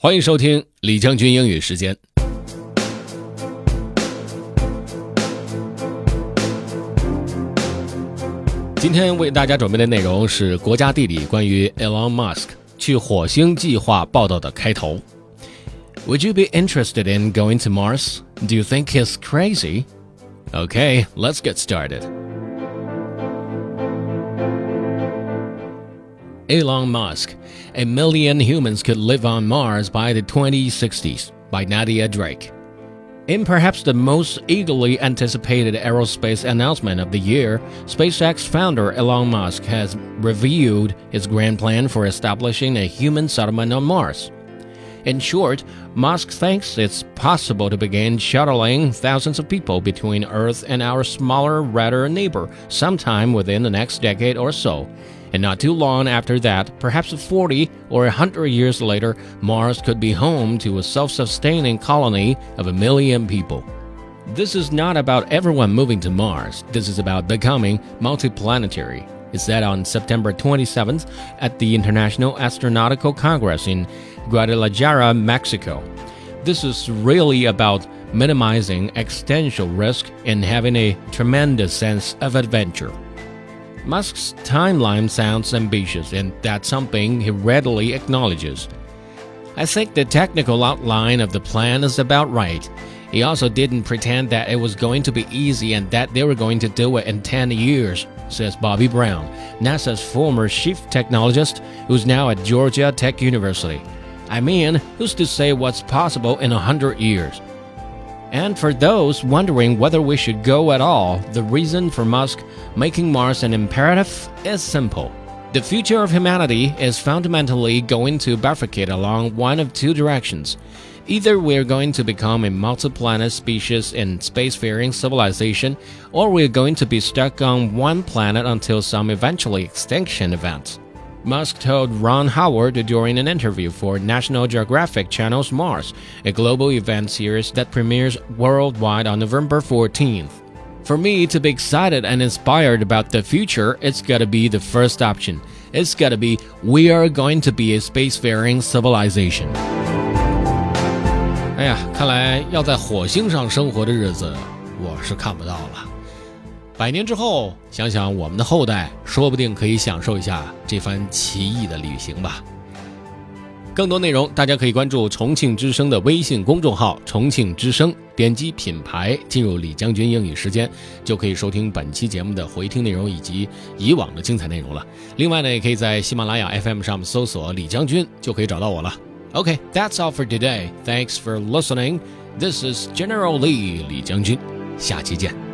欢迎收听李将军英语时间。今天为大家准备的内容是国家地理关于 Elon Musk 去火星计划报道的开头。Would you be interested in going to Mars? Do you think he's crazy? Okay, let's get started. Elon Musk, A Million Humans Could Live on Mars by the 2060s, by Nadia Drake. In perhaps the most eagerly anticipated aerospace announcement of the year, SpaceX founder Elon Musk has revealed his grand plan for establishing a human settlement on Mars. In short, Musk thinks it's possible to begin shuttling thousands of people between Earth and our smaller, redder neighbor sometime within the next decade or so. And not too long after that, perhaps 40 or 100 years later, Mars could be home to a self-sustaining colony of 1 million people. This is not about everyone moving to Mars. This is about becoming multiplanetary. It said on September 27th at the International Astronautical Congress in Guadalajara, Mexico. This is really about minimizing existential risk and having a tremendous sense of adventure. Musk's timeline sounds ambitious, and that's something he readily acknowledges. I think the technical outline of the plan is about right. He also didn't pretend that it was going to be easy and that they were going to do it in 10 years, says Bobby Brown, NASA's former chief technologist who's now at Georgia Tech University. I mean, who's to say what's possible in 100 years? And for those wondering whether we should go at all, the reason for Musk making Mars an imperative is simple. The future of humanity is fundamentally going to bifurcate along one of two directions. Either we're going to become a multi-planet species in spacefaring civilization, or we're going to be stuck on one planet until some eventually extinction event. Musk told Ron Howard during an interview for National Geographic Channel's Mars, a global event series that premieres worldwide on November 14th. For me to be excited and inspired about the future, it's gotta be the first option. It's gotta be we are going to be a spacefaring civilization. 哎呀，看来要在火星上生活的日子，我是看不到了。100年之后，想想我们的后代，说不定可以享受一下这番奇异的旅行吧。更多内容大家可以关注重庆之声的微信公众号重庆之声，点击品牌进入李将军英语时间，就可以收听本期节目的回听内容以及以往的精彩内容了。另外呢，也可以在喜马拉雅 FM 上搜索李将军，就可以找到我了。Okay, that's all for today. Thanks for listening. This is General Lee 李将军，下期见。